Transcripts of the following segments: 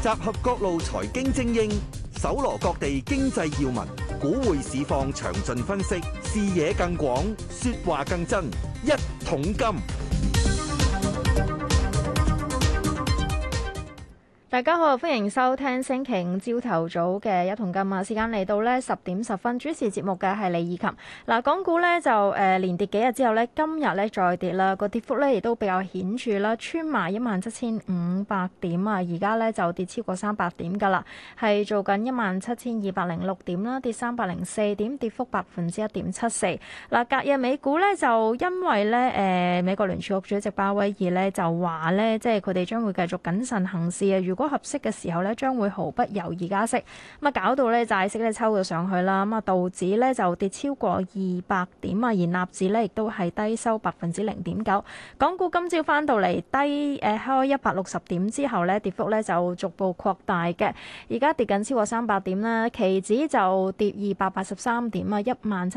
集合各路財經精英，搜羅各地經濟要聞，股匯市況詳盡分析，視野更廣，說話更真。一桶金。 大家好，歡迎收聽星期五朝頭早嘅一桶金啊！時間嚟到呢10:10，主持節目嘅係李以琴。嗱，港股呢就連跌幾日之後呢，今日呢再跌啦，個跌幅呢亦都比較顯著啦，穿埋17,500點啊！而家呢就跌超過300點㗎啦，係做緊17,206點啦，跌304點，跌幅1.74%。嗱，隔日美股呢就因為呢美國聯儲局主席鮑威爾呢就話呢，即係佢哋將會繼續謹慎行事啊！如果合適嘅時候咧，將會毫不猶豫加息，咁啊搞到咧債息咧抽咗上去啦，咁啊道指咧就跌超過200點啊，而納指咧亦都係低收0.9%。港股今朝翻到嚟低開160點之後咧，跌幅咧就逐步擴大嘅，而家跌緊超過300點啦，期指就跌283點啊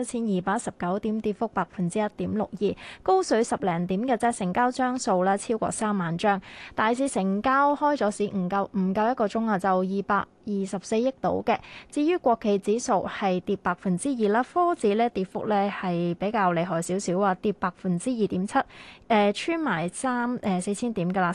，17,219點，跌幅1.62%，高水10零點嘅啫，成交張數啦超過3萬張，大市成交開咗市唔夠一個鐘啊，就224億度嘅。至於國企指數係跌2%啦，科指咧跌幅咧係比較厲害少少啊，跌2.7%，穿埋4,000點㗎啦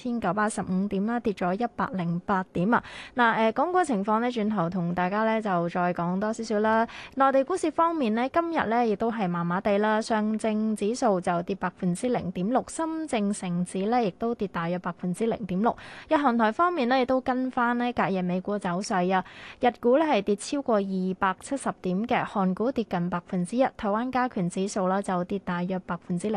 ，3,915點啦，跌咗108點啊。嗱講個情況呢，轉頭同大家咧就再講多少少啦。內地股市方面呢，今日咧亦都係麻麻地啦，上證指數就跌0.6%，深證成指咧亦都跌大約0.6%。日韓台方面呢，亦都跟翻呢隔夜美股走勢啊，日股呢係跌超過270點嘅，韓股跌近1%，台灣加權指數啦就跌大約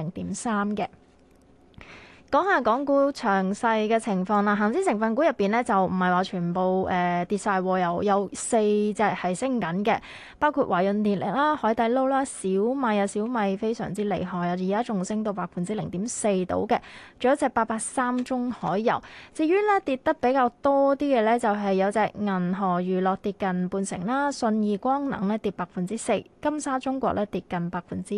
0.3%嘅。講下港股詳細嘅情況啦，恒指成分股入邊呢，就唔係話全部跌晒，有4隻係升緊嘅，包括華潤電力啦、海底撈啦、小米非常之厲害啊，而家仲升到0.4%到嘅，仲有一隻883中海油。至於呢跌得比較多啲嘅呢，就係有隻銀河娛樂跌近半成啦，信義光能呢跌4%，金沙中國呢跌近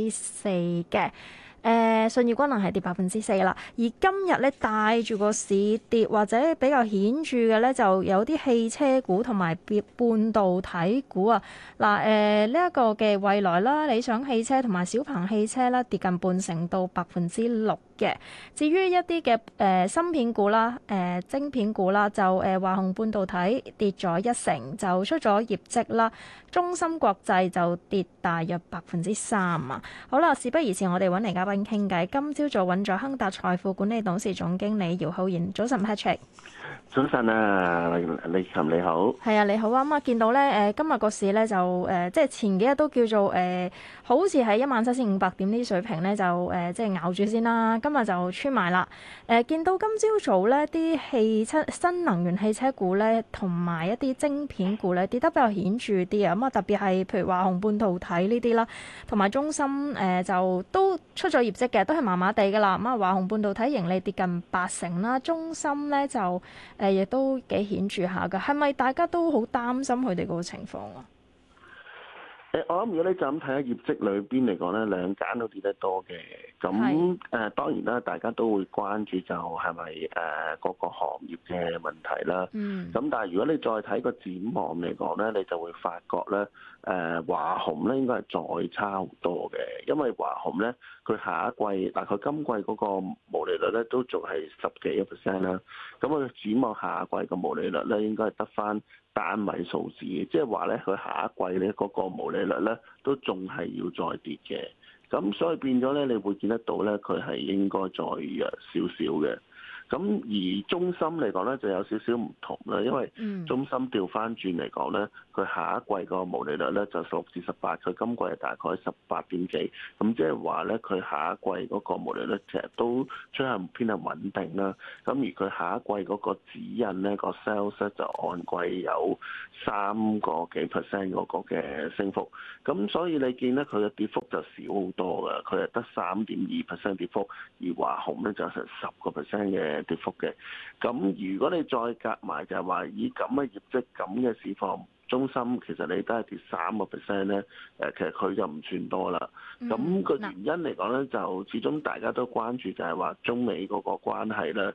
4%嘅。信義光能係跌4%啦，而今日咧帶住個市跌或者比較顯著嘅咧，就有啲汽車股同埋半導體股啊。嗱，呢一個嘅蔚來啦、理想汽車同埋小鵬汽車啦，跌近半成到6%嘅。至於一啲嘅芯片股啦、晶片股啦，就華虹半導體跌咗1成，就出咗業績啦。中芯國際就跌大約3%啊。好啦，事不宜遲，我哋揾嚟嘉賓傾偈。今朝早揾咗亨達財富管理董事總經理姚浩然。早晨 Patrick。 早晨啊，李琴你好。 係啊，你好啊。咁啊，見到咧今日個市咧就即係前幾日都叫做好似喺17,500點呢啲水平咧就即係咬住先啦。今日就穿埋啦。見到今朝早咧啲新能源汽車股咧同埋一啲晶片股咧跌得比較顯著啲啊。咁啊，特別係譬如華虹半導體呢啲啦，同埋中芯就都出咗業績嘅，都係麻麻地㗎啦。咁啊，華虹半導體盈利跌近80%啦，中芯咧就亦都幾顯著下㗎，係咪大家都好擔心佢哋嗰個情況啊？ 我諗如果你就咁睇下業績裏邊嚟講咧，兩間都跌得多嘅。咁當然啦，大家都會關注就係咪各個行業嘅問題啦。咁但係如果你再睇個展望嚟講咧，你就會發覺咧，華虹咧應該係再差好多嘅，因為華虹咧佢下一季佢今季嗰個毛利率咧都仲係10幾%啦。咁佢展望下一季個毛利率咧應該係得翻單位數字，即係話咧佢下一季咧嗰個毛利率咧都仲係要再跌嘅，咁所以變咗咧你會見得到咧佢係應該再弱少少嘅。咁而中芯嚟講咧就有少少唔同啦，因為中芯調翻轉嚟講咧，佢下一季個毛利率咧就16至18，佢今季係大概18點幾，咁即係話咧佢下一季嗰個毛利率其實都趨向偏向穩定啦。咁而佢下一季嗰個指引咧個 sales 咧就按季有3個幾% 嗰個嘅升幅，咁所以你見咧佢嘅跌幅就少好多㗎，佢係得3.2% 跌幅，而華虹咧就成10% 嘅跌幅嘅。咁如果你再夾埋就係話以咁嘅業績咁嘅市況中芯其實你都係跌3%咧，其實佢就唔算多啦。咁個原因嚟講咧，就始終大家都關注就係話中美嗰個關係咧，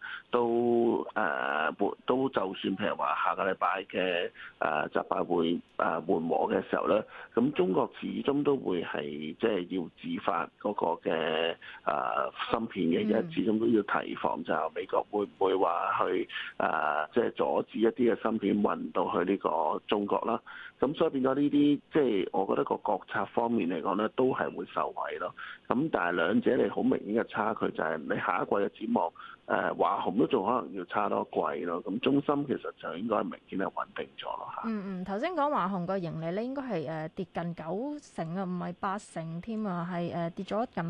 都就算譬如話下個禮拜嘅習拜會緩和嘅時候咧，咁中國始終都會係即係要自發嗰個嘅芯片嘅，因為始終都要提防就係美國會唔會話去即係阻止一啲嘅芯片運到去呢個中國啦。咁所以變咗呢啲，即係我覺得個國策方面嚟講咧，都係會受惠咯。咁但係兩者你好明顯嘅差距就係你下一季嘅展望，華虹都仲可能要差多一季咯。咁中芯其實就應該明顯係穩定咗咯嚇。 頭先講華虹個盈利咧，應該係跌近90%啊，唔係80%添啊，係跌咗近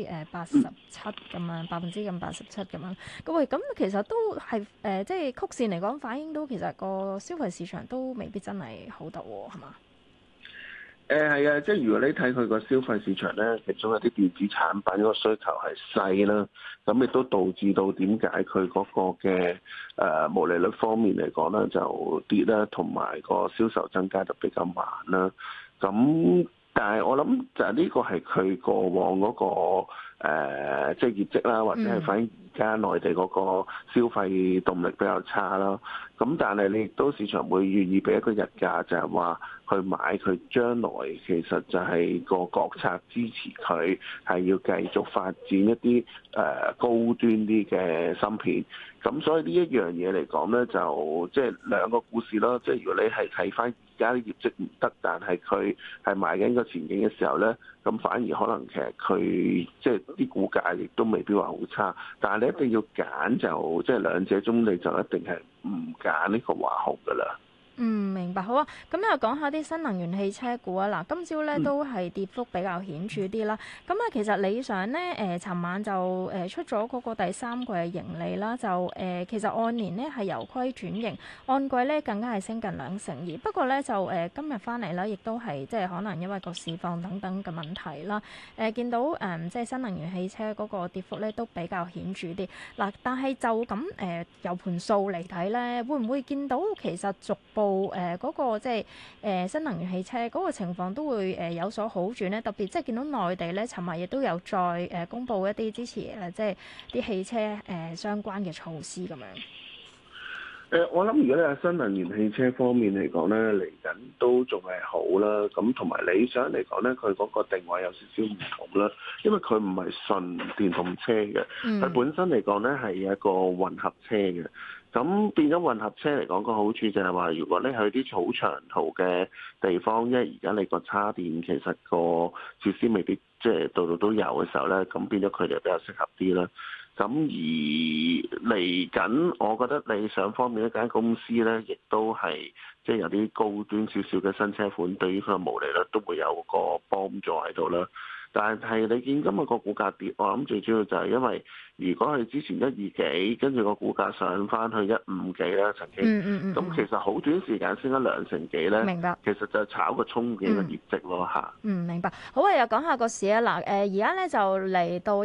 87%咁樣，87%咁樣。咁其實都係即係曲線嚟講，反映到其實個消費市場都未必真係好得喎，係嘛？ 係啊，即係如果你睇佢個消費市場咧，其中有啲電子產品個需求係細啦，咁亦都導致到點解佢嗰個嘅毛利率方面嚟講咧就跌啦，同埋個銷售增加就比較慢啦。咁但係我諗就係呢個係佢過往嗰個即係業績啦，或者係反映而家內地嗰個消費動力比較差啦。咁但係你亦都市場會願意俾一個日價，就係話去買佢將來其實就係個國策支持佢係要繼續發展一啲高端啲嘅芯片。咁所以呢一樣嘢嚟講咧，就即係兩個故事咯。即係如果你係睇翻而家啲業績唔得，但係佢係賣緊個前景嘅時候咧，咁反而可能其實佢即係啲股價亦都未必話好差。但係你一定要揀就即係兩者中，你就一定係唔揀呢個華虹㗎啦。 明白，好啊。咁又講下啲新能源汽車股啊。嗱，今朝咧都係跌幅比較顯著啲啦。咁其實理想咧，尋晚就出咗嗰個第三季嘅盈利啦，就其實按年咧係由虧轉盈，按季咧更加係升近2成2。不過咧就今日翻嚟啦，亦都係即係可能因為個市況等等嘅問題啦。見到即係新能源汽車嗰個跌幅咧都比較顯著啲。嗱，但係就咁由盤數嚟睇咧，會唔會見到其實逐步嗰個即係新能源汽車嗰個情況都會有所好轉咧？特別即係見到內地咧，尋日亦都有再公布一啲支持即係啲汽車相關嘅措施咁樣。 我諗如果你係新能源汽車方面嚟講咧，嚟緊都仲係好啦。咁同埋理想嚟講咧，佢嗰個定位有少少唔同啦，因為佢唔係純電動車嘅，佢本身嚟講咧係一個混合車嘅。咁變咗混合車嚟講個好處就係話，如果你去啲好長途嘅地方，因為而家你個叉電其實個設施未必即係度度都有嘅時候咧，咁變咗佢哋比較適合啲啦。咁而嚟緊，我覺得理想方面一間公司咧，亦都係即係有啲高端少少嘅新車款，對於佢嘅毛利率都會有個幫助喺度啦。但係你見今日個股價跌，我諗最主要就係因為如果係之前1、2幾，跟住個股價上翻去1、5幾啦，曾經，咁其實好短時間升咗2成幾咧。 明白。 其實就炒個憧憬嘅業績咯嚇。 明白。好啊，又講下個市啊。嗱，而家咧就嚟到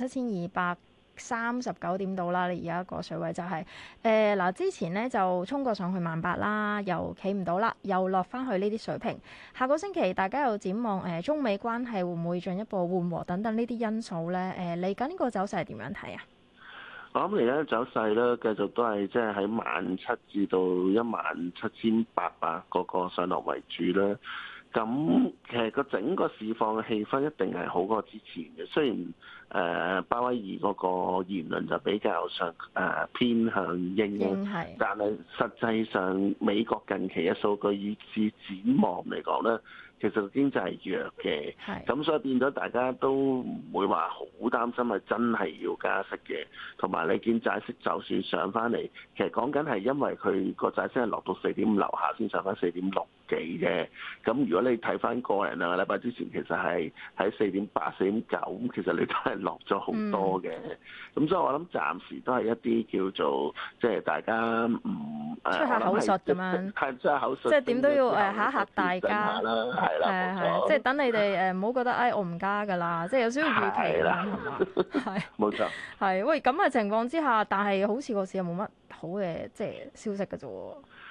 17,239點度啦，你而家個水位就係嗱，之前咧就衝過上去18,000啦，又企唔到啦，又落翻去呢啲水平。下個星期大家又展望中美關係會唔會進一步緩和等等呢啲因素咧？嚟緊呢個走勢係點樣睇啊？ 我諗而家走勢咧，繼續都係即係喺17,000至到17,800嗰個上落為主啦。咁其實個整個市況嘅氣氛一定係好過之前嘅，雖然鮑威爾嗰個言論就比較上偏向鷹，但係實際上美國近期嘅數據以至展望嚟講咧，其實個經濟係弱嘅，咁所以變咗大家都唔會話好擔心係真係要加息嘅，同埋你見債息就算上翻嚟，其實講緊係因為佢個債息係落到4.5樓下先上翻4.6幾嘅，咁如果你睇翻個人兩個禮拜之前其實係喺4.8、4.9，咁其實你都係落咗好多嘅，咁所以我諗暫時都係一啲叫做即係大家唔出下口術咁樣， 出下口術， 即係點都要嚇一嚇大家啦，係啦， 即係等你哋唔好覺得我唔加㗎啦，即係有少少預期啦，係嘛？係冇錯。 係喂，咁嘅情況之下，但係好似個市又冇乜好嘅即係消息㗎啫喎。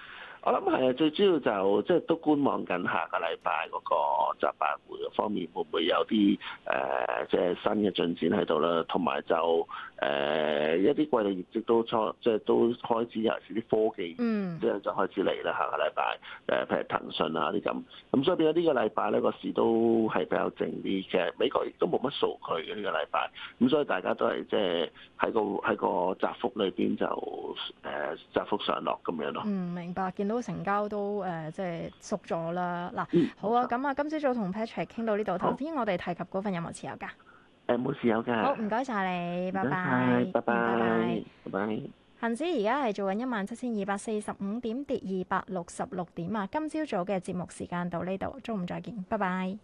我諗係最主要就即係都觀望緊下個禮拜嗰個集辦會方面會唔會有啲即係新嘅進展喺度啦，同埋就一啲季度業績都即係都開始，尤其是啲科技即係就開始嚟啦。下個禮拜譬如騰訊啊啲咁，所以變咗呢個禮拜咧個市都係比較靜啲嘅。美國亦都冇乜數據嘅呢個禮拜，咁所以大家都係即係喺個窄幅裏邊就窄幅上落咁樣咯。 明白。見到成交都即係縮咗啦。嗱，好啊，咁啊，今朝早同 Patrick 傾到呢度。頭先我哋提及嗰份有冇持有㗎？ 冇持有㗎。 好，唔該晒你，拜拜。 拜拜。拜拜。 恒指而家係做緊17,245點，跌266點啊！今朝早嘅節目時間到呢度，中午再見，拜拜。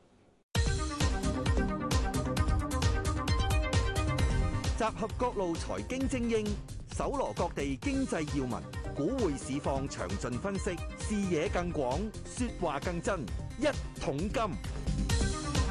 集合各路財經精英，搜羅各地經濟要聞，股匯市況詳盡分析，視野更廣，說話更真。一桶金。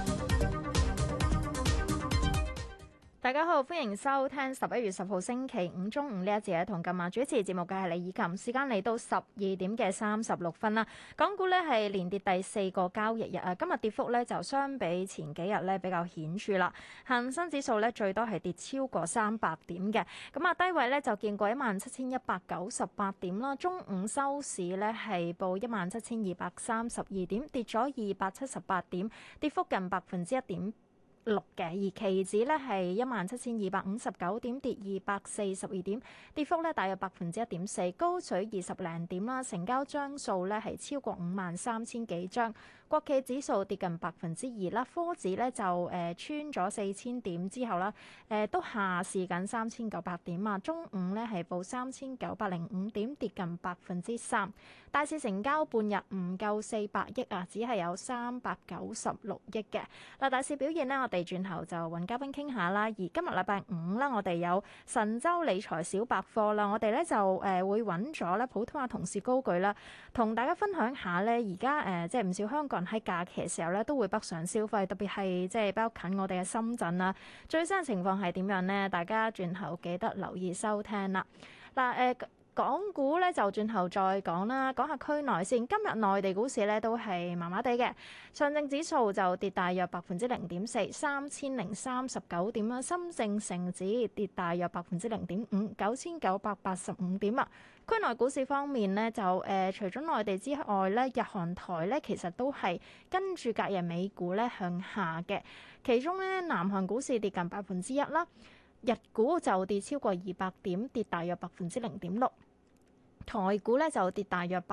大家好，歡迎收聽11月10號星期五中午呢一節嘅同今晚主持節目嘅係李以琴，時間嚟到12點嘅36分啦。港股呢係連跌第4個交易日啊，今日跌幅呢就相比前幾日呢比較顯著啦。恒生指數呢最多係跌超過300點嘅，咁啊低位呢就見過17,198點啦。中午收市呢係報17,232點，跌咗278點，跌幅近1.1%。嘅，而期指咧係17,259點，跌242點，跌幅咧大約1.4%，高水20零點啦。成交張數咧係超過53,000幾張。國企指數跌近2%啦，科指咧就穿咗4,000點之後啦，都下試緊3,900點啊。中午咧係報3,905點，跌近3%。大市成交半日唔夠400億啊，只係有396億嘅。嗱，大市表現呢，我哋轉頭就揾嘉賓傾下啦。而今日禮拜五啦，我哋有神州理財小百科啦，我哋咧就會揾咗咧普通話同事高舉啦，同大家分享下咧而家即係唔少香港人喺假期嘅時候咧都會北上消費，特別係即係比較近我哋嘅深圳啦。最新嘅情況係點樣呢？大家轉頭記得留意收聽啦。嗱，港股咧就轉頭再講啦，講下區內先。今日內地股市咧都係麻麻地嘅，上證指數就跌大約0.4%， 3,039點啦。深證成指跌大約0.5%， 9,985點啊。區內股市方面呢，就除咗內地之外咧，日韓台咧其實都係跟住隔日美股咧向下嘅。其中咧，南韓股市跌近1%啦。日股就跌超過200點，跌大約0.6%。台股咧就跌大約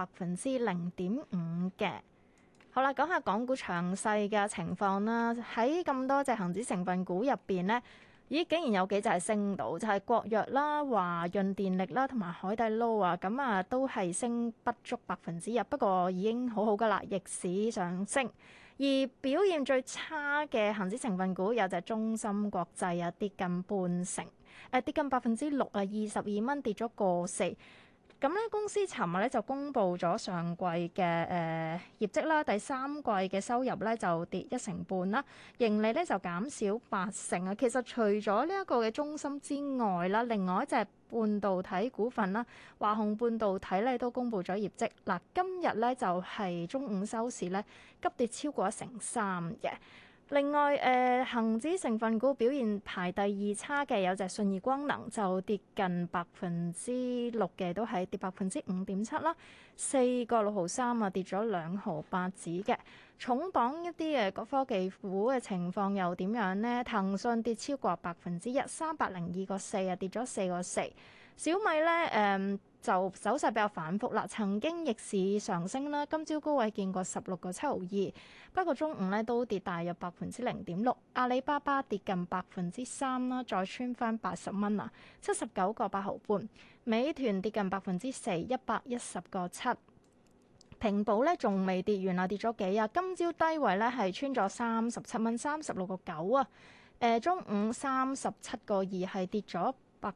0.5%嘅。好啦，講下港股詳細嘅情況啦。喺咁多隻恒指成分股入邊呢，竟然有幾隻係升到，就係國藥啦、華潤電力啦同埋海底撈啊，咁啊都係升不足1%，不過已經好好噶啦，逆市上升。而表現最差嘅恒指成分股有隻中芯國際啊，跌近半成，跌近6%啊，22蚊跌咗1.4%。咁咧，公司尋日咧就公布咗上季嘅業績啦，第三季嘅收入咧就跌1.5%啦，盈利咧就減少8%啊。其實除咗呢一個嘅中芯之外啦，另外一隻半導體股份啦，華虹半導體咧都公布咗業績。嗱，今日咧就係中午收市咧急跌超過1.3%嘅。另外，恆指成分股表現排第二差嘅有隻信義光能，就跌近6%嘅，都係跌5.7%啦，4.63啊，跌咗2毫8子嘅。重磅一啲嘅科技股嘅情況又點樣呢？騰訊跌超過1%，302.4啊，跌咗4.4。小米咧就走勢比較反覆啦，曾經逆市上升啦，今朝高位見過16.72，不過中午咧都跌大約0.6%。阿里巴巴跌近3%啦，再穿翻80蚊啊，79.8毫半。美團跌近4%，110.7。平保咧仲未跌完啊，跌咗幾啊？今朝低位咧係穿咗37蚊，36.9啊。中午37.2係跌咗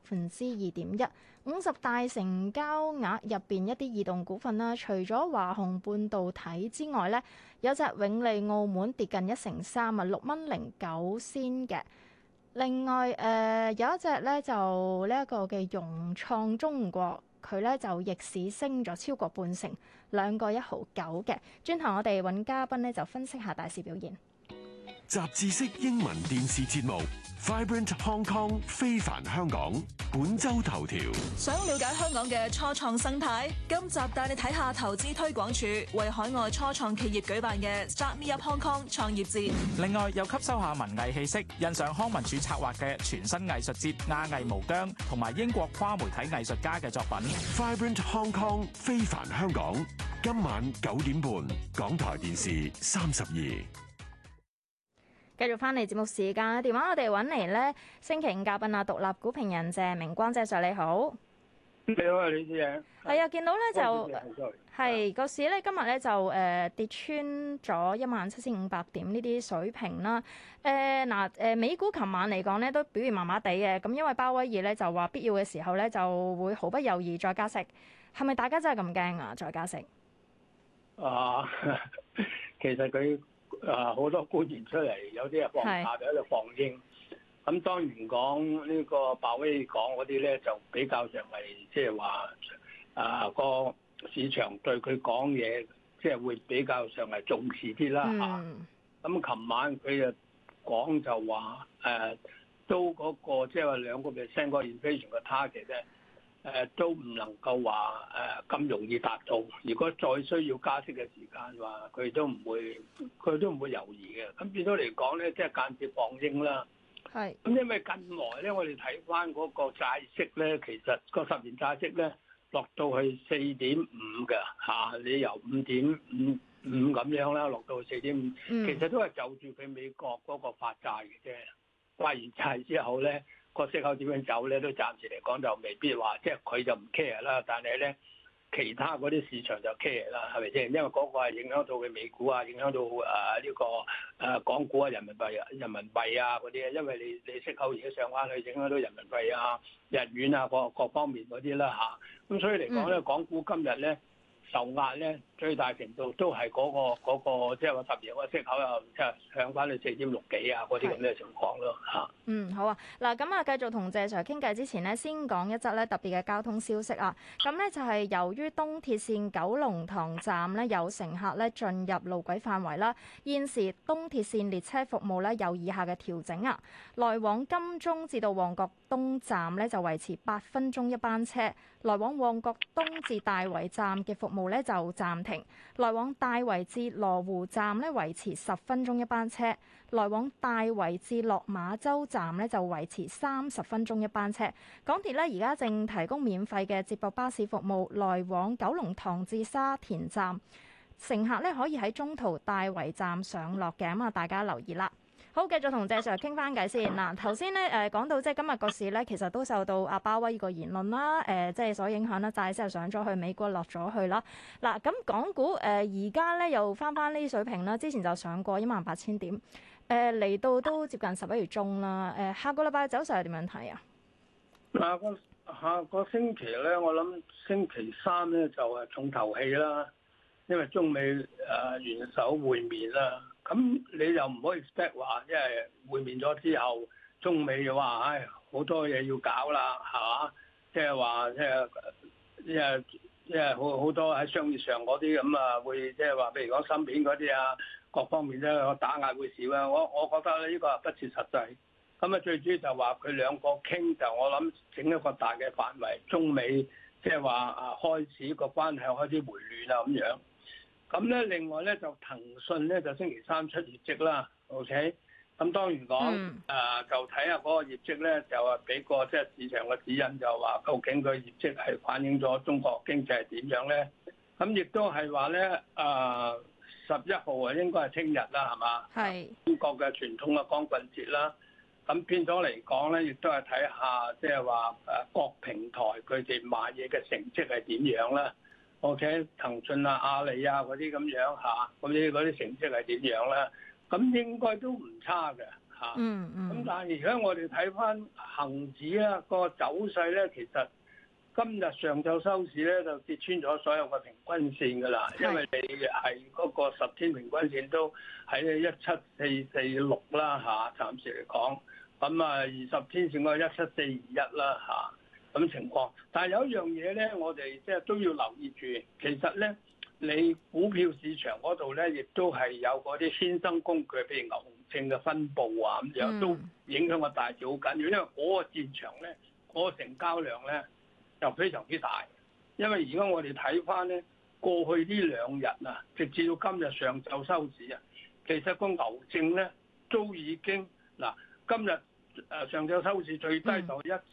2.1%。50大成交額入邊一啲異動股份啦，除咗華虹半導體之外咧，有隻永利澳門跌近1.3啊，6.09仙嘅。另外有一隻咧就呢一個嘅融創中國佢咧就逆市升咗超過半成，2.159嘅。轉頭我哋揾嘉賓咧就分析下大市表現。 雜誌式英文電視節目 Vibrant Hong Kong 非凡香港本周頭條。 想了解香港嘅初創生態，今集帶你睇下投資推廣署為海外初創企業舉辦嘅 Start Me Up Hong Kong 創業節。 另外又吸收下文藝氣息，欣賞康文署策劃嘅全新藝術節亞藝無疆同埋英國跨媒體藝術家嘅作品。 Vibrant Hong Kong 非凡香港今晚9點半港台電視32。 繼續翻嚟節目時間，電話我哋揾嚟咧，星期五嘉賓啊，獨立股評人謝明光，謝 Sir 你好。 你好啊，李小姐。 係啊，見到咧就係個市咧，今日咧就跌穿咗17,500點呢啲水平啦。美股琴晚嚟講咧都表現麻麻地嘅，咁因為鮑威爾咧就話必要嘅時候咧就會毫不猶豫再加息，係咪大家真係咁驚啊？再加息？ 其實佢好多官員出嚟，有啲係放假，有啲放鷹。咁當然講呢個鮑威爾講嗰啲咧，就比較上係即係話個市場對佢講嘢，即係會比較上係重視啲啦嚇。咁琴晚佢就講就話都嗰個即係話2% 個 inflation 嘅 target 咧。都唔能夠話咁容易達到。如果再需要加息嘅時間話，佢都唔會猶豫嘅。咁變咗嚟講咧，即係間接放鷹啦。係。咁因為近來咧，我哋睇翻嗰個債息咧，其實個10年債息咧落到去4.5嘅嚇，你由5.55咁樣啦，落到去4.5，其實都係就住佢美國嗰個發債嘅啫。發完債之後咧，個息口點樣走咧？都暫時嚟講就未必話，即係佢就唔 care 啦。但係咧，其他嗰啲市場就 care 啦，係咪先？因為嗰個係影響到佢美股啊，影響到呢個港股啊、人民幣啊嗰啲。因為你息口而家上翻去，影響到人民幣啊、日元啊各方面嗰啲啦嚇。咁所以嚟講咧，港股今日咧受壓咧，最大程度都係嗰個即係話10年個息口又即係上翻去4.6幾啊嗰啲咁嘅情況咯嚇。 好啊，嗱咁啊，繼續同謝 Sir 傾偈之前呢，先講一則咧特別嘅交通消息啊。咁咧就係由於東鐵線九龍塘站咧有乘客咧進入路軌範圍啦，現時東鐵線列車服務咧有以下嘅調整啊。來往金鐘至到旺角東站咧就維持8分鐘一班車，來往旺角東至大圍站嘅服務咧就暫停，來往大圍至羅湖站咧維持10分鐘一班車，來往大圍至落馬洲站咧就維持30分鐘一班車。港鐵咧而家正提供免費嘅接駁巴士服務，來往九龍塘至沙田站，乘客咧可以喺中途大圍站上落嘅，咁啊大家留意啦。好，繼續同謝 Sir 傾翻偈先嗱。頭先咧講到即係今日個市咧，其實都受到阿鮑威爾個言論啦，即係所影響啦，債息又上咗去，美國落咗去啦。嗱，咁港股而家咧又翻呢啲水平啦，之前就上過18,000點，嚟到都接近11月中啦。下個禮拜走勢係點樣睇啊？ 下個星期咧，我諗星期3咧就係重頭戲啦，因為中美元首會面啦。咁你又唔可以 expect 話，因為會面咗之後，中美就話，好多嘢要搞啦，係嘛？即係話，即係好多喺商業上嗰啲咁啊，會即係話，譬如講芯片嗰啲啊，各方面咧個打壓會少啊。我覺得呢個係不切實際。咁啊，最主要就話佢兩個傾，就我諗整一個大嘅範圍，中美即係話開始個關係開始回暖啊咁樣。咁咧，另外咧就騰訊咧就星期3出業績啦 ，OK。咁當然講就睇下嗰個業績咧，就話俾個即係市場嘅指引，就話究竟佢業績係反映咗中國經濟係點樣咧？咁亦都係話咧11號啊，應該係聽日啦，係嘛？係中國嘅傳統嘅光棍節啦。咁變咗嚟講咧，亦都係睇下即係話各平台佢哋賣嘢嘅成績係點樣啦。OK， 騰訊啊、阿里啊嗰啲咁樣嚇，嗰啲成績係點樣咧？咁應該都唔差嘅嚇。咁但係而家我哋睇翻恆指啊個走勢咧，其實今日上晝收市咧就跌穿咗所有嘅平均線㗎啦，因為你係嗰個10天平均線都喺17446啦嚇，暫時嚟講。咁啊20天線嗰個17421啦嚇。 咁情況。但係有一樣嘢咧，我哋即係都要留意住，其實咧你股票市場嗰度咧，亦都係有嗰啲衍生工具，譬如牛熊證嘅分佈啊咁樣，都影響個大市好緊要。因為嗰個戰場咧，嗰個成交量咧就非常之大。因為而家我哋睇翻咧，過去呢2日啊，直至到今日上晝收市啊，其實個牛證咧都已經嗱，今日上晝收市最低就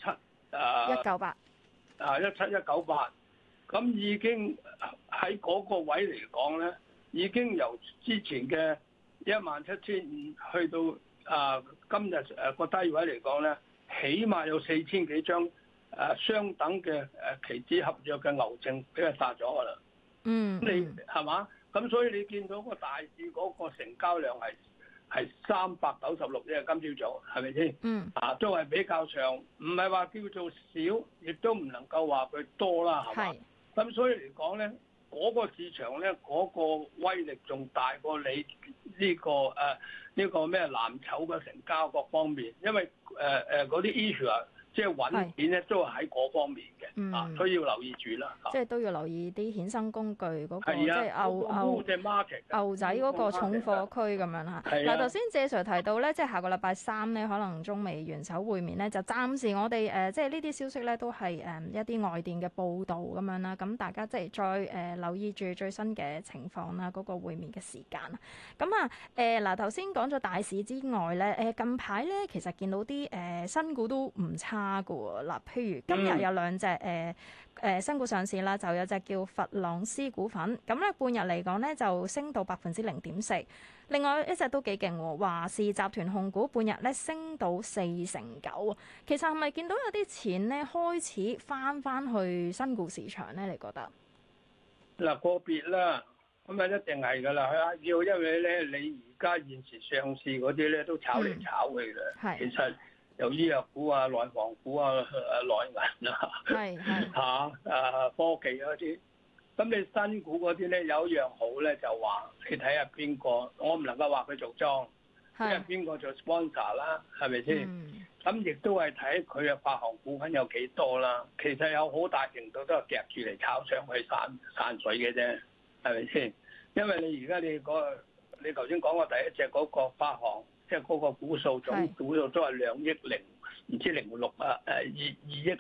17198，17198，咁已經喺嗰個位嚟講咧，已經由之前嘅17500去到今日個低位嚟講咧，起碼有4000幾張相等嘅期指合約嘅牛證俾佢殺咗㗎啦。你係嘛？咁所以你見到個大市嗰個成交量係396億，今朝早係咪先？都係比較長，唔係話叫做少，亦都唔能夠話佢多啦，係嘛？咁所以嚟講咧，嗰個市場咧，嗰個威力仲大過你呢個咩藍籌嘅成交各方面，因為嗰啲 issue 啊。即係揾錢咧，都係喺嗰方面嘅，所以要留意住啦。 即係都要留意啲衍生工具嗰個， 即係牛仔嗰個重貨區咁樣嚇。嗱，頭先謝 Sir 提到咧，即係下個禮拜3咧，可能中美元首會面咧，就暫時我哋即係呢啲消息咧，都係一啲外電嘅報導咁樣啦。咁大家即係再留意住最新嘅情況啦，嗰個會面嘅時間。咁啊嗱，頭先講咗大市之外咧，近排咧其實見到啲新股都唔差。嗱，譬如今日有2隻新股上市啦，就有隻叫佛朗斯股份，咁咧半日嚟講咧就升到0.4%。另外一隻都幾勁喎，華視集團控股半日咧升到4.9%。其實係咪見到有啲錢咧開始翻去新股市場咧？你覺得？ 嗱，個別啦，咁啊一定係㗎啦，要因為咧你而家現時上市嗰啲咧都炒嚟炒去嘅，其實。由醫藥股啊、內房股啊、內銀啊，科技嗰啲，咁你新股嗰啲咧有一樣好咧，就話你睇下邊個，我唔能夠話佢做莊，因為邊個做 sponsor 啦，係咪先？咁亦都係睇佢嘅發行股份有幾多啦。其實有好大程度都係夾住嚟炒上去散水嘅啫，係咪先？因為你而家你頭先講過第一隻嗰個發行。即係嗰個股數總股數都係2億0唔知06啊2億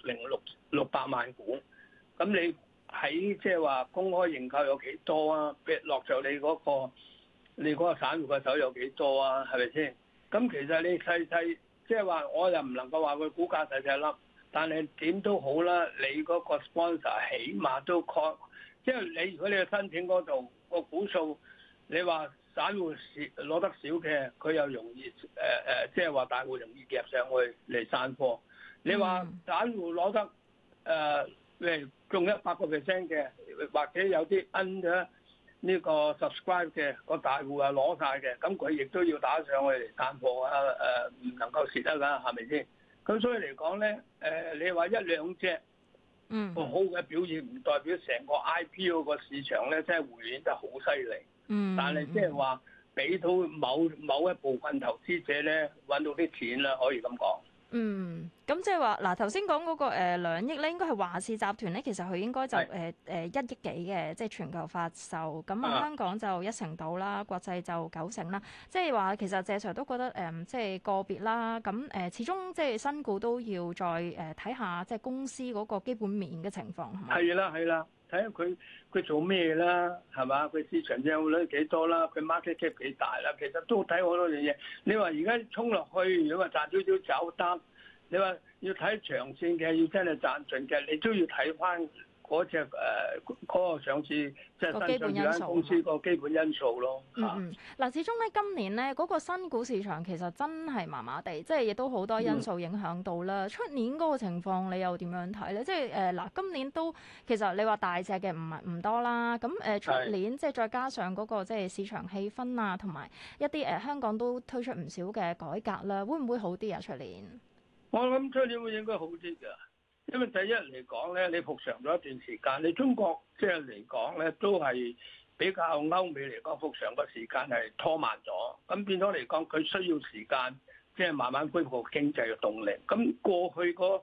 600萬股，咁你喺即係話公開認購有幾多啊？落咗你嗰個散戶嘅手有幾多啊？係咪先？咁其實你細即係話我又唔能夠話佢股價細粒，但係點都好啦，你嗰個 sponsor 起碼都 call， 即係你如果你去申請嗰度個股數，你話。散戶攞得少嘅，佢又容易即係話大戶容易夾上去嚟散貨。你話散戶攞得中100% 嘅，或者有啲 under 呢個 subscribe 嘅個大戶啊攞晒嘅，咁佢亦都要打上去嚟散貨啊，唔能夠蝕得㗎，係咪先？咁所以嚟講咧，你話1、2隻個好嘅表現，唔代表成個 IPO 個市場咧，真係回軟得好犀利。但係即係話俾到某一部分投資者咧揾到啲錢啦，可以咁講。 咁即係話嗱，頭先講嗰個2億咧，應該係華視集團咧，其實佢應該就1億幾嘅，即係全球發售。咁香港就1成到啦，國際就9成啦。即係話其實謝 Sir 都覺得即係個別啦。咁始終即係新股都要再睇下即係公司嗰個基本面嘅情況係咪？ 係啦。睇下佢做咩啦，係嘛？佢市場佔有率幾多啦？佢 market cap 幾大啦？其實都睇好多樣嘢。你話而家衝落去，如果話賺少少走得，你話要睇長線嘅，要真係賺盡嘅，你都要睇翻嗰隻嗰個上市即係新上市間公司個基本因素咯。 嗱，始終咧今年咧嗰個新股市場其實真係麻麻地，即係亦都好多因素影響到啦。出年嗰個情況你又點樣睇咧？即係嗱，今年都其實你話大隻嘅唔多啦。咁出年即係再加上嗰個即係市場氣氛啊，同埋一啲香港都推出唔少嘅改革啦，會唔會好啲啊？出年我諗出年會應該好啲㗎。因為第一嚟講咧，你復常咗一段時間，你中國即係嚟講咧，都係比較歐美嚟講復常個時間係拖慢咗，咁變咗嚟講，佢需要時間即係慢慢恢復經濟嘅動力。咁過去嗰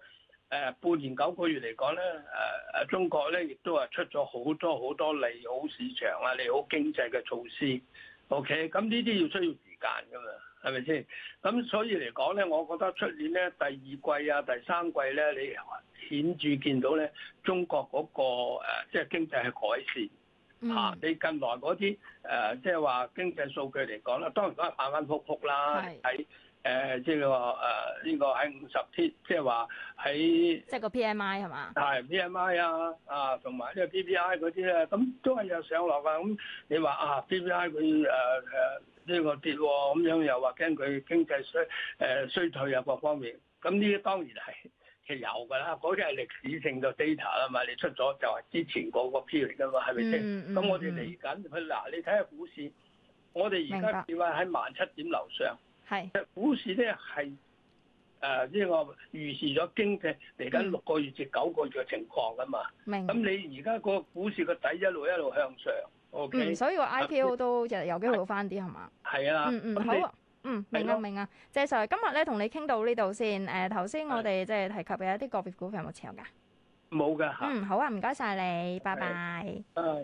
半年9個月嚟講咧，中國咧亦都係出咗好多利好市場啊、利好經濟嘅措施。OK， 咁呢啲要需要時間㗎嘛，係咪先？咁所以嚟講咧，我覺得出年咧第2季啊、第3季咧，你顯著見到咧中國嗰個即係經濟係改善。嚇！你近來嗰啲即係話經濟數據嚟講啦，當然都係反反覆覆啦。喺即係話呢個喺50天，即係話喺即係個 PMI 係嘛？ 係 PMI 啊，同埋呢個 PPI 嗰啲咧，咁都係有上落㗎。咁你話PPI 佢呢個跌喎，咁樣又話驚佢經濟衰退啊各方面，咁呢啲當然係有㗎啦，嗰啲係歷史性嘅 data 啦嘛，你出咗就係之前嗰個 period 㗎嘛，係咪先？咁我哋嚟緊佢嗱，你睇下股市，我哋而家跌喺17,000點樓上，係股市咧係呢個預示咗經濟嚟緊6個月至9個月嘅情況㗎嘛。明。咁你而家個股市個底一路向上 ，OK。所以個 IPO 都有機會好翻啲係嘛？係啊。好啊。明啊，謝 Sir， 今日咧同你傾到呢度先。頭先我哋即係提及嘅一啲個別股份有冇持有㗎？冇㗎嚇。好啊，唔該晒你，拜拜。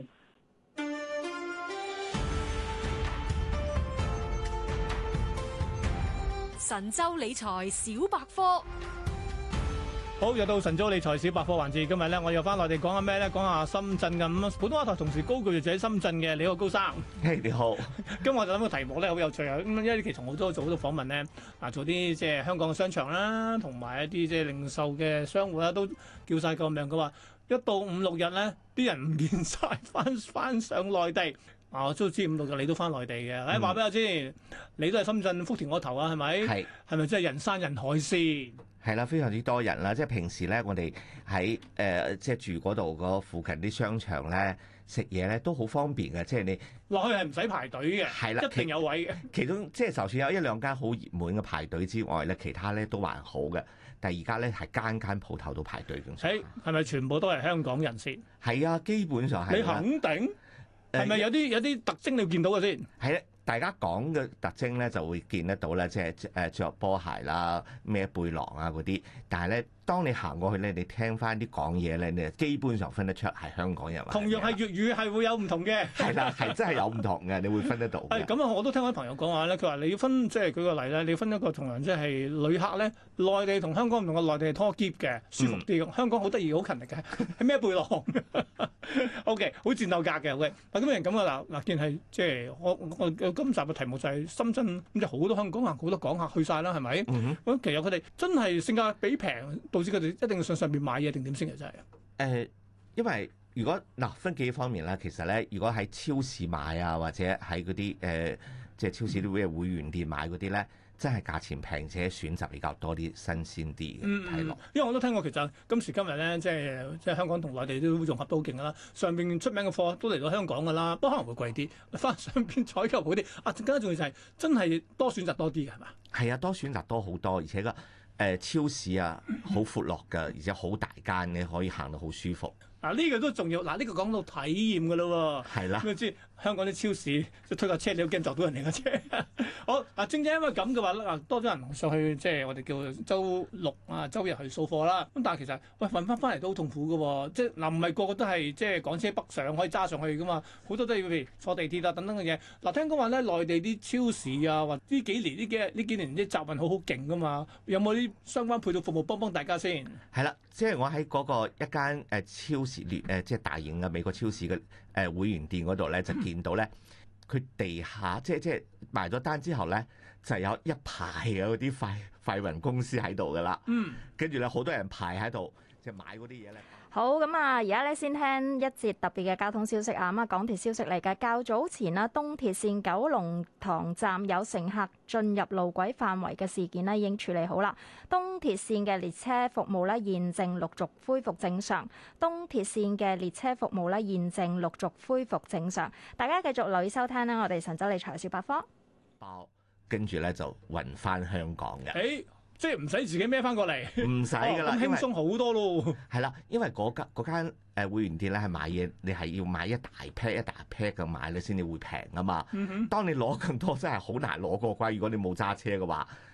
神州理財小百科。 好，又到神州理財小百科環節。今日咧，我又翻內地講下咩咧？講下深圳咁。普通話台同時高句就喺深圳嘅，你好高生。 你好。 今日我就諗個題目咧，好有趣啊！咁因為呢期同好多做好多訪問咧，做啲即係香港嘅商場啦，同埋一啲即係零售嘅商戶啦，都叫晒個名。佢話一到5、6日咧，啲人唔見晒，翻上內地。我都知5、6日你都翻內地嘅。話俾我知，你都係深圳福田嗰頭啊？係咪？係。係咪真係人山人海先？ 係啦，非常之多人啦。即係平時咧，我哋喺即係住嗰度嗰附近啲商場咧，食嘢咧都好方便嘅。即係你落去係唔使排隊嘅，係啦，一定有位嘅。 其中即係就算有1、2間好熱門嘅排隊之外咧，其他咧都還好嘅。但係而家咧係間鋪頭都排隊嘅。 係咪全部都係香港人先？ 係啊，基本上係。 你肯定係咪有啲特徵你要見到嘅先？ 係咧。大家講嘅特徵咧就會見得到咧，即係著波鞋啦、孭背囊啊嗰啲。但係咧，當你行過去咧，你聽翻啲講嘢咧，你基本上分得出係香港人。 同樣係粵語係會有唔同嘅。 係啦，係真係有唔同嘅，你會分得到。 係咁啊！我都聽我啲朋友講話咧，佢話你要分，即係舉個例咧，你要分一個同樣即係旅客咧，內地同香港唔同嘅，內地係拖篋嘅，舒服啲。香港好得意，好勤力嘅，係孭背囊。O.K. 好戰鬥格嘅。喂，咁樣咁啊嗱，見係即係我今集嘅題目就係深圳咁，就好多香港人好多港客去晒啦，係咪？咁其實佢哋真係性價比平，導致佢哋一定要上邊買嘢定點先嘅真係。 因為如果分幾方面啦，其實咧，如果喺超市買啊，或者喺嗰啲即係超市啲會員店買嗰啲咧。真係價錢平且選擇比較多啲新鮮啲嘅睇落。 因為我都聽過，其實今時今日咧，即係香港同內地都融合到好勁㗎啦。上邊出名嘅貨都嚟到香港㗎啦，不過可能會貴啲，翻上邊採購好啲。更加重要就係真係多選擇多啲嘅係嘛？ 係啊，多選擇多好多，而且個超市啊好闊落㗎，而且好大間，你可以行到好舒服。 呢個都重要。呢個講到體驗㗎咯喎。係啦。咁知香港啲超市即推架車，你都驚撞到人哋架車。好正因為咁嘅話多咗人上去，即係我哋叫周六周日去掃貨啦。咁但係其實運翻嚟都好痛苦㗎喎。即係唔係個個都係即係港車北上可以揸上去㗎嘛？好多都要譬如坐地鐵等等嘅嘢。聽講話咧，內地啲超市啊，或呢幾年呢幾年啲集運好勁㗎嘛？有冇啲相關配套服務幫大家先？ 係啦，即係我喺嗰個一間超市即係大型嘅美國超市嘅會員店嗰度咧，就見到咧，佢地下即係埋咗單之後咧，就有一排嘅嗰啲快運公司喺度噶啦。跟住咧好多人排喺度，即係買嗰啲嘢咧。 好咁啊！而家咧先聽一節特別嘅交通消息啊！咁啊，港鐵消息嚟嘅。較早前啦，東鐵線九龍塘站有乘客進入路軌範圍嘅事件咧，已經處理好啦。東鐵線嘅列車服務咧，現正陸續恢復正常。東鐵線嘅列車服務咧，現正陸續恢復正常。大家繼續留意收聽啦，我哋神州理財小百科。 跟住咧就運翻香港嘅。 即係唔使自己孭翻過嚟， 唔使㗎啦， 咁輕鬆好多咯。 係啦，因為嗰間會員店咧係買嘢，你係要買一大 pack 咁買咧先至會平啊嘛。當你攞咁多真係好難攞過關，如果你冇揸車嘅話。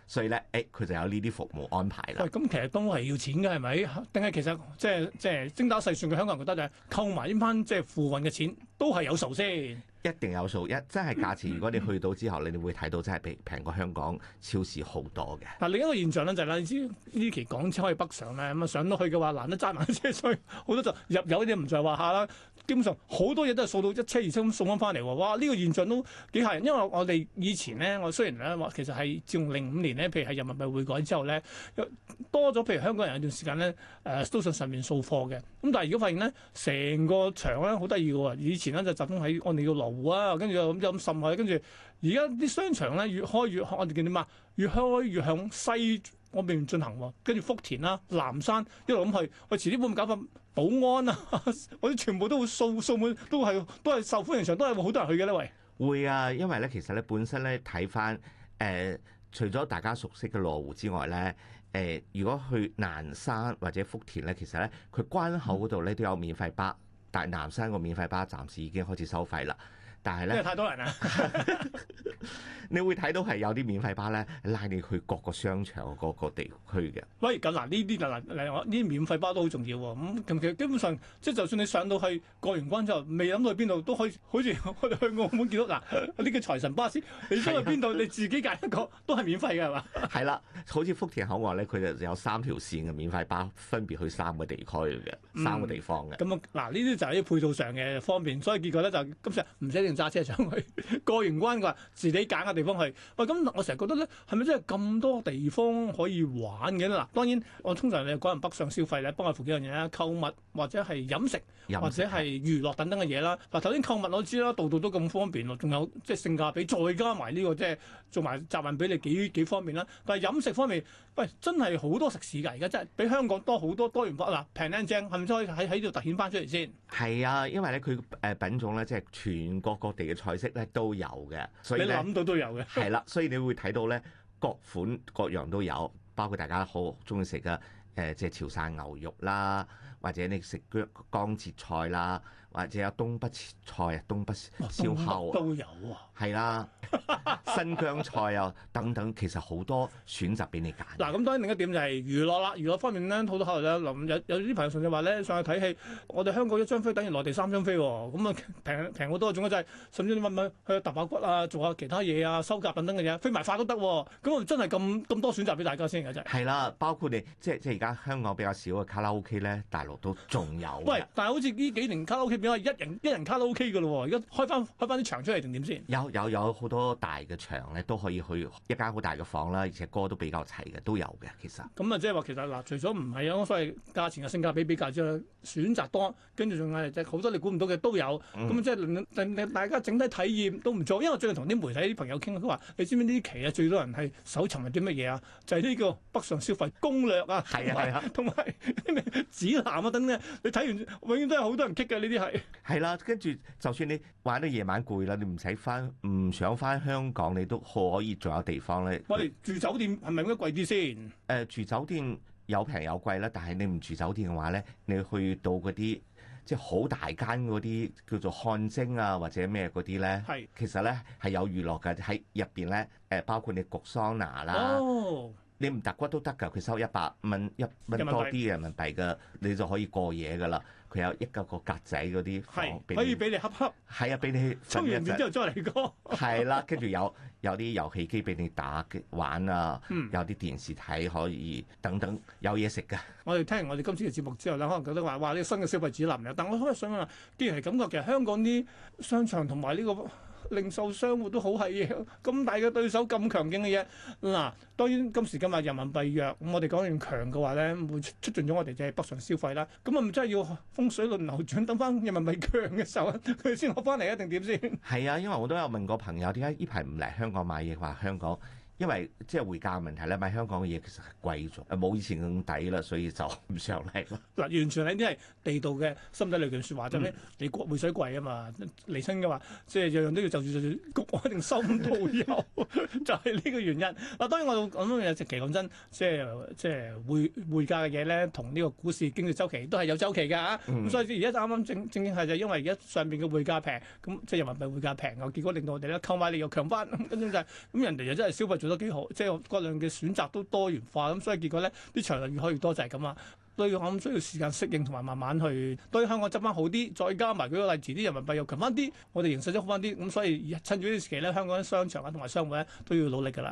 所以咧佢就有呢啲服務安排啦。 喂，咁其實都係要錢嘅係咪？定係其實即係精打細算嘅香港人覺得就係扣埋呢班即係付運嘅錢都係有數先。 一定有數，真係價錢。如果你去到之後，你哋會睇到真係平過香港超市好多嘅。 嗱，另一個現象咧就係啦，你知呢期港車可以北上咧，咁啊上到去嘅話難得揸埋車，所以好多就入油啲唔在話下啦。基本上好多嘢都係掃到一車二車咁送翻嚟喎。哇！呢個現象都幾嚇人，因為我哋以前咧，我雖然咧話其實係自從05年咧，譬如係人民幣匯改之後咧，多咗譬如香港人有段時間咧都上面掃貨嘅。咁但係如果發現咧，成個場咧好得意嘅喎，以前咧就集中喺我哋嘅羅湖啊，跟住又咁滲去，跟住而家啲商場咧越開越我哋叫點啊？越開越向西嗰邊進行喎，跟住福田啦、南山一路咁去，我遲啲會唔會搞翻寶安啊？我哋全部都會掃滿，都係受歡迎場，都係好多人去嘅咧，喂。 會啊，因為咧其實咧本身咧睇翻除咗大家熟悉嘅羅湖之外咧，如果去南山或者福田咧，其實咧佢關口嗰度咧都有免費巴，但係南山個免費巴暫時已經開始收費啦。但係咧， 因為太多人啦， 你會睇到係有啲免費巴咧拉你去各個商場各個地區嘅。 喂，咁嗱呢啲嗱呢啲免費巴都好重要喎。咁其實基本上即係就算你上到去過完關之後，未諗到去邊度都可以，好似我哋去澳門見到嗱呢個財神巴士，你想去邊度你自己揀一個都係免費嘅係嘛？ 係啦，好似福田口岸咧，佢就有3條線嘅免費巴，分別去3個地區嘅3個地方嘅。 咁嗱呢啲就係啲配套上嘅方便，所以結果咧就今次唔使一定揸車上去，過完關嘅話自己揀個地方去。喂，咁我成日覺得咧，係咪真係咁多地方可以玩嘅咧？嗱，當然我通常你講人北上消費咧，幫我付幾樣嘢啦，購物或者係飲食或者係娛樂等等嘅嘢啦。嗱，頭先購物我知啦，度度都咁方便咯，仲有即係性價比，再加埋呢個即係做埋集運俾你幾方便啦。但係飲食方面，喂，真係好多食肆㗎，而家真係比香港多好多元化嗱，平靚正，係咪可以喺度突顯翻出嚟先？ 係啊，因為咧佢品種咧即係全國各地嘅菜式咧都有嘅，所以你諗到都有嘅。 係啦，所以你會睇到咧各款各樣都有，包括大家好中意食嘅即係潮汕牛肉啦，或者你食江浙菜啦，或者有東北菜啊、東北燒烤都有啊， 係啦，新疆菜啊等等，其實好多選擇俾你揀。 嗱，咁當然另一點就係娛樂啦，娛樂方面咧好多考慮咧，有啲朋友甚至話咧上去睇戲，我哋香港1張飛等於內地3張飛喎，咁啊平好多，仲有就係甚至你問去揼下骨啊，做下其他嘢啊，修甲等等嘅嘢，飛埋髮都得喎，咁啊真係咁多選擇俾大家先嘅真係。 係啦，包括你即係而家香港比較少嘅卡拉 OK 咧，大陸都仲有。 喂，但係好似呢幾年卡拉 OK 變咗一人卡拉 OK 嘅咯喎，而家開翻啲場出嚟定點先？ 有好多大嘅場咧，都可以去一間好大嘅房啦，而且歌都比較齊嘅，都有嘅其實。 咁啊，即係話其實嗱，除咗唔係有所謂價錢嘅性價比較之外，選擇多，跟住仲係即係好多你估唔到嘅都有。咁即係令大家整體體驗都唔錯。因為我最近同啲媒體啲朋友傾，佢話你知唔知呢期啊最多人係搜尋係啲乜嘢啊？就係呢個北上消費攻略啊， 係啊， 同埋指南啊等等。你睇完永遠都係好多人棘嘅呢啲係。 係啦，跟住就算你玩到夜晚攰啦，你唔想翻香港，你都可以仲有地方咧。 我哋住酒店係咪應該貴啲先？ 住酒店有平有貴啦，但係你唔住酒店嘅話咧，你去到嗰啲即係好大間嗰啲叫做汗蒸啊或者咩嗰啲咧，其實咧係有娛樂嘅，喺入邊咧包括你焗桑拿啦。你唔揼骨都得㗎，佢收100蚊1蚊多啲嘅人民幣嘅，你就可以過夜㗎啦。佢有一個格仔嗰啲房， 可以俾你恰恰。 係啊，俾你沖完面之後再嚟過。 係啦，跟住有啲遊戲機俾你打玩啊，有啲電視睇可以等等，有嘢食㗎。 我哋聽完我哋今次嘅節目之後咧，可能覺得話哇呢個新嘅消費指南嚟，但我可能想問，既然係咁嘅，其實香港啲商場同埋呢個零售商戶都好係咁大嘅對手，咁強勁嘅嘢嗱。當然今時今日人民幣弱，咁我哋講完強嘅話咧，會促進咗我哋即係北上消費啦。咁啊，唔真係要風水輪流轉，等翻人民幣強嘅時候，佢先攞翻嚟一定點先？ 係啊，因為我都有問過朋友，點解呢排唔嚟香港買嘢？話香港。因為即係匯價問題咧，買香港嘅嘢其實係貴咗，冇以前咁抵啦，所以就唔上嚟咯。 嗱，完全係啲係地道嘅心底裏句説話，就係你匯水貴啊嘛，嚟親嘅話，即係樣樣都要就住局，我一定收唔到油，就係呢個原因。嗱，當然我咁樣嘢，其實講真，即係匯價嘅嘢咧，同呢個股市經濟周期都係有周期㗎嚇。咁所以而家啱啱正係就因為而家上邊嘅匯價平，咁即係人民幣匯價平，結果令到我哋咧購買力又強翻，跟住就係咁人哋又真係消費做得幾好，即係各樣嘅選擇都多元化，咁所以結果咧啲場就越開越多就係咁啊。所以我諗需要時間適應同埋慢慢去對香港執翻好啲，再加埋舉個例，遲啲人民幣又強翻啲，我哋形勢都好翻啲，咁所以趁住呢啲時期咧，香港啲商場啊同埋商戶咧都要努力㗎啦。